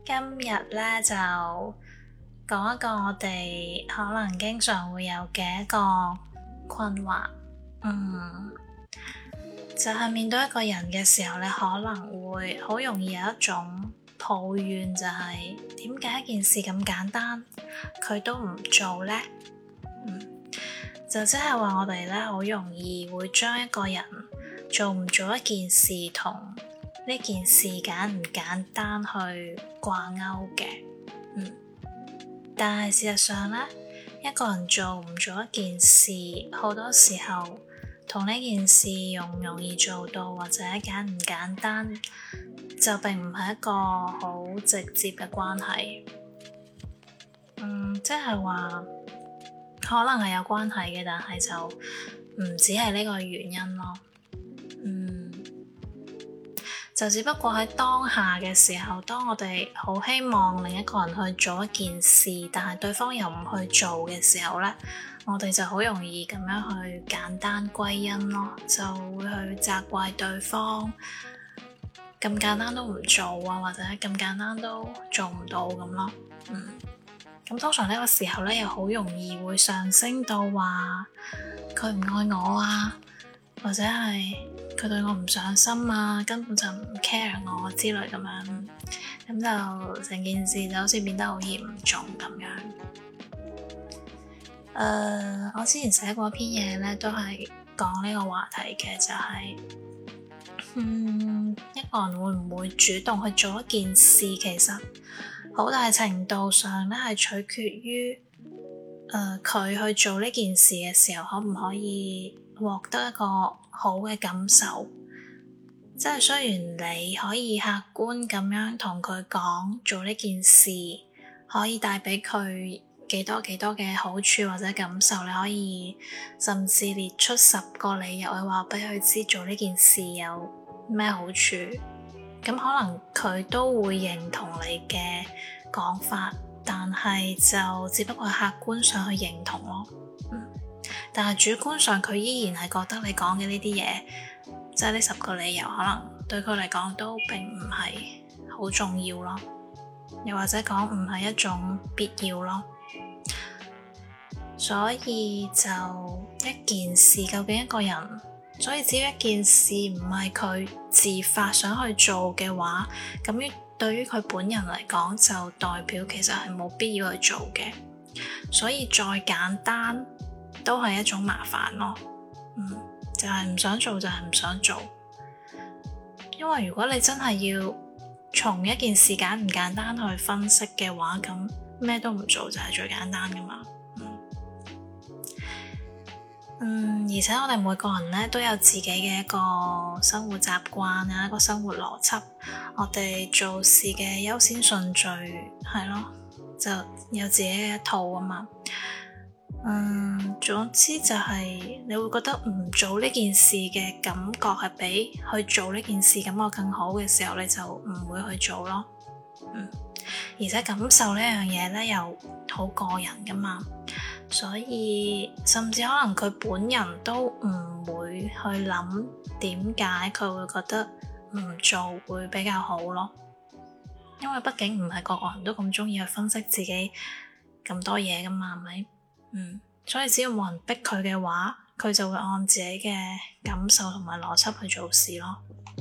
今日咧就講一個我哋可能經常會有嘅一個困惑，就係面對一個人嘅時候，你可能會好容易有一種抱怨，就係點解一件事咁簡單，佢都唔做呢？就即係話我哋咧好容易會將一個人做唔做一件事同呢件事簡唔簡單去掛鈎嘅，但係事實上咧，一個人做唔做一件事，好多時候同呢件事容唔容易做到或者簡唔簡單，就並唔係一個好直接嘅關係。即係話可能係有關係嘅，但係就唔止係呢個原因咯。就只不過喺當下嘅時候，當我哋好希望另一個人去做一件事，但係對方又唔去做嘅時候咧，我哋就好容易咁樣去簡單歸因咯，就會去責怪對方咁簡單都唔做啊，或者咁簡單都做唔到咁咯。咁通常呢個時候咧，又好容易會上升到話佢唔愛我啊，或者係佢對我唔上心啊，根本就唔 care 我之類咁樣，咁就成件事就好似變得好嚴重咁樣。我之前寫過一篇嘢咧，都係講呢個話題嘅，就係一個人會唔會主動去做一件事，其實好大程度上咧係取決於佢去做呢件事嘅時候，可唔可以獲得一個好嘅感受。即係雖然你可以客觀咁樣同佢講做呢件事可以帶俾佢幾多嘅好處或者感受，你可以甚至列出10個理由去話俾佢知做呢件事有咩好處，咁可能佢都會認同你嘅講法，但係就只不過係客觀上去認同咯。但係主觀上佢依然係覺得你講嘅呢啲嘢，即係呢10個理由，可能對佢嚟講都並唔係好重要咯，又或者講唔係一種必要咯。所以就一件事，究竟一個人，所以只要一件事唔係佢自發想去做嘅話，咁對於佢本人嚟講，就代表其實係冇必要去做嘅。所以再簡單都係一種麻煩咯。就係唔想做就係唔想做。因為如果你真係要從一件事簡唔簡單去分析嘅話，咁咩都唔做就係最簡單噶嘛。而且我哋每個人咧都有自己嘅一個生活習慣啊，一個生活邏輯，我哋做事嘅優先順序係咯，就有自己嘅一套啊嘛。總之就係你會覺得唔做呢件事嘅感覺係比去做呢件事感覺更好嘅時候，你就唔會去做咯。而且感受呢樣嘢咧又好個人噶嘛，所以甚至可能佢本人都唔會去諗點解佢會覺得唔做會比較好咯。因為畢竟唔係個個人都咁中意去分析自己咁多嘢噶嘛，係咪？所以只要冇人逼佢嘅話，佢就會按自己嘅感受同埋邏輯去做事咯。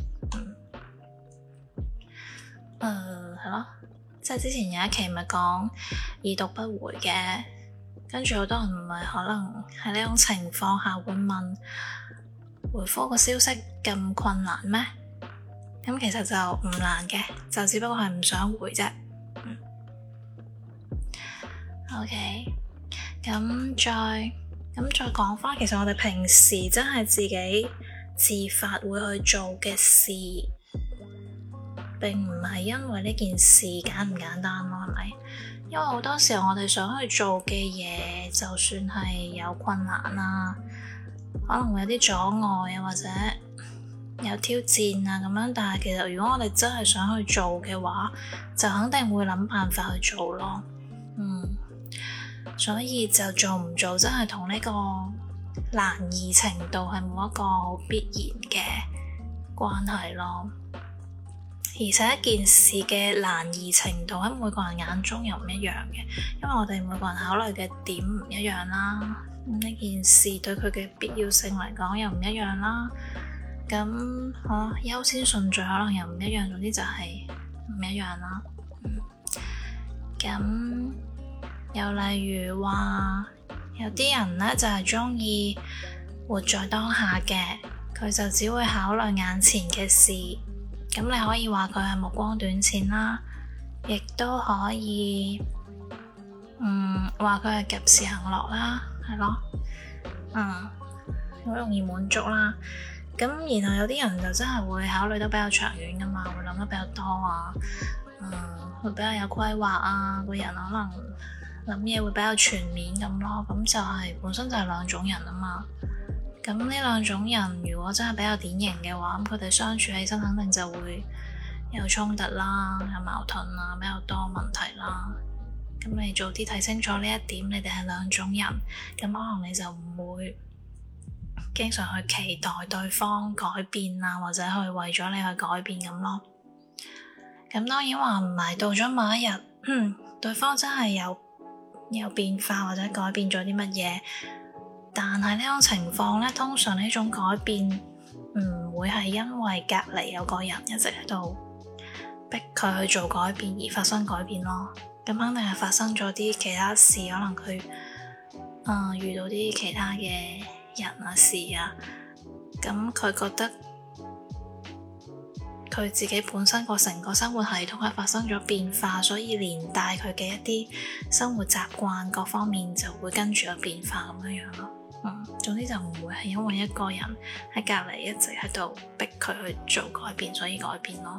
係咯，即係之前有一期咪講已讀不回嘅，跟住好多人唔係可能喺呢種情況下會問回覆個消息咁困難咩？咁其實就唔難嘅，就只不過係唔想回啫。OK。咁再講翻，其實我哋平時真係自己自發會去做嘅事，並唔係因為呢件事簡唔簡單咯，係咪？因為好多時候我哋想去做嘅嘢，就算係有困難啊，可能會有啲阻礙啊，或者有挑戰啊咁樣，但係其實如果我哋真係想去做嘅話，就肯定會諗辦法去做咯。所以就做唔做真係同呢個難易程度係冇一個好必然嘅關係咯。 而且一件事嘅難易程度喺每個人眼中又唔一樣嘅，因為我哋每個人考慮嘅點唔一樣啦。呢件事對佢嘅必要性嚟講又唔一樣啦。咁優先順序可能又唔一樣，總之就係唔一樣啦。咁又例如話，有啲人呢就係鍾意活在當下嘅，佢就只會考慮眼前嘅事。咁你可以話佢係目光短淺啦，亦都可以話佢係及時行樂啦，係咯，好容易滿足啦。咁然後有啲人就真係會考慮得比較長遠噶嘛，會諗得比較多啊，會比較有規劃啊，個人可能諗嘢會比較全面咁咯。咁就係本身就係兩種人啊嘛。咁呢兩種人如果真係比較典型嘅話，咁佢哋相處起身肯定就會有衝突啦，有矛盾啦，比較多問題啦。咁你早啲睇清楚呢一點，你哋係兩種人，咁可能你就唔會經常去期待對方改變啊，或者去為咗你去改變咁咯。咁當然話唔係到咗某一日，對方真係有變化或者改變咗啲乜嘢。但係呢種情況呢，通常呢種改變唔會係因為隔離有個人一直喺度逼佢去做改變而發生改變咯。咁肯定係發生咗啲其他事，可能佢遇到啲其他嘅人啊事啊，咁佢覺得佢自己本身個成個生活系統係發生咗變化，所以連帶佢嘅一啲生活習慣各方面就會跟住有變化咁樣樣咯。總之就唔會係因為一個人喺隔離一直喺度逼佢去做改變，所以改變咯。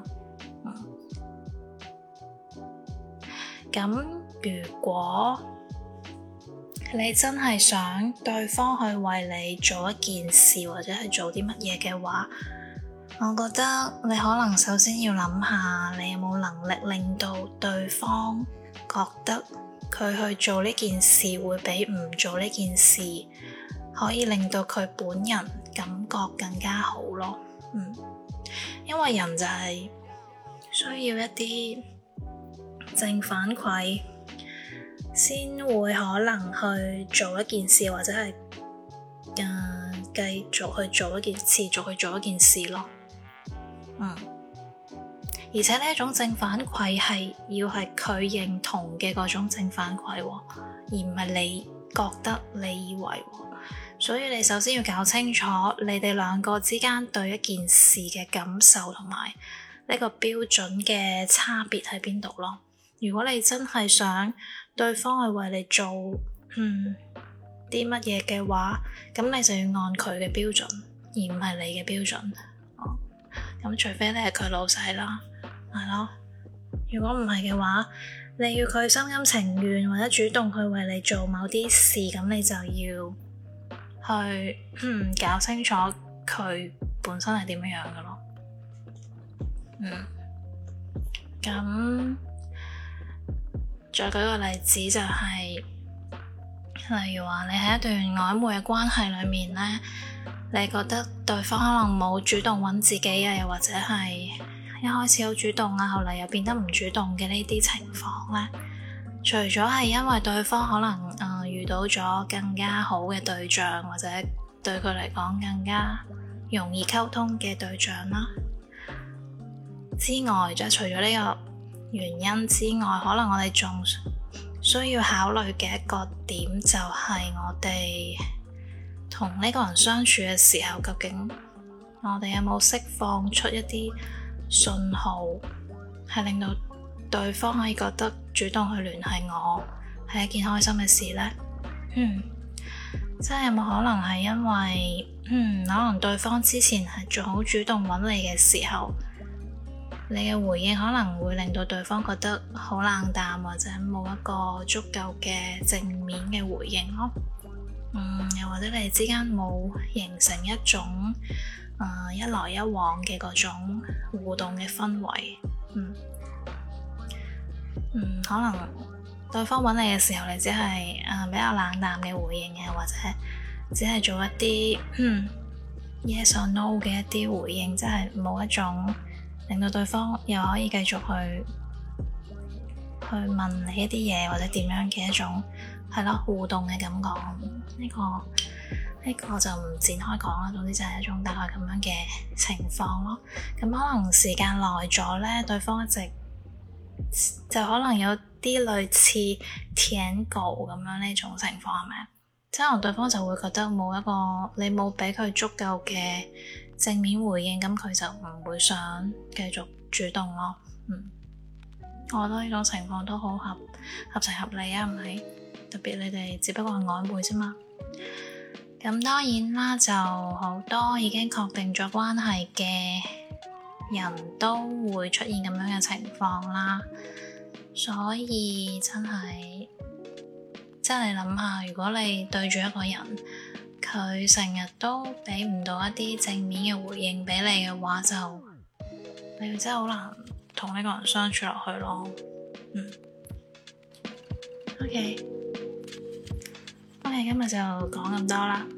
咁如果你真係想對方去為你做一件事或者係做啲乜嘢嘅話，我覺得你可能首先要諗下，你有冇能力令到對方覺得佢去做呢件事會比唔做呢件事可以令到佢本人感覺更加好咯。因為人就係需要一啲正反饋先會可能去做一件事，或者係繼續去做一件持續去做一件事咯。而且呢一種正反饋係要係佢認同嘅嗰種正反饋，而唔係你覺得你以為。所以你首先要搞清楚你哋兩個之間對一件事嘅感受同埋呢個標準嘅差別喺邊度咯。如果你真係想對方去為你做啲乜嘢嘅話，咁你就要按佢嘅標準，而唔係你嘅標準。咁除非你係佢老細啦，係咯。如果唔係嘅話，你要佢心甘情願或者主動去為你做某啲事，咁你就要去搞清楚佢本身係點樣嘅咯。咁再舉個例子就係，例如話你喺一段曖昧嘅關係裏面呢，你覺得對方可能冇主動揾自己啊，又或者係一開始好主動啊，後嚟又變得唔主動嘅呢啲情況呢，除咗係因為對方可能遇到咗更加好嘅對象，或者對佢嚟講更加容易溝通嘅對象啦之外，即係除咗呢個原因之外，可能我哋仲需要考慮嘅一個點就係我哋同呢個人相處嘅時候，究竟我哋有冇釋放出一啲信號，係令到對方可以覺得主動去聯繫我係一件開心嘅事呢？即係有冇可能係因為可能對方之前係仲好主動揾你嘅時候，你嘅回應可能會令到對方覺得好冷淡，或者冇一個足夠嘅正面嘅回應咯。又或者你哋之間冇形成一種一來一往嘅嗰種互動嘅氛圍。可能對方揾你嘅時候，你只係比較冷淡嘅回應嘅，或者只係做一啲yes or no 嘅一啲回應，即係冇一種令到對方又可以繼續去問你一啲嘢，或者點樣嘅一種係咯互動嘅感覺。呢個就唔展開講啦。總之就係一種大概咁樣嘅情況咯。咁可能時間耐咗咧，對方一直就可能有啲類似舔狗咁樣呢種情況，係咪？即係可能對方就會覺得你冇俾佢足夠嘅正面回應，咁佢就唔會想繼續主動咯。我覺得呢種情況都好合情合理啊，唔係？特別你哋只不過係曖昧啫嘛。咁當然啦，就好多已經確定咗關係嘅人都會出現咁樣嘅情況啦。所以真係你諗下，如果你對住一個人，佢成日都俾唔到一啲正面嘅回應俾你嘅話，就你真係好難同呢個人相處落去咯。OK，今日就講咁多啦。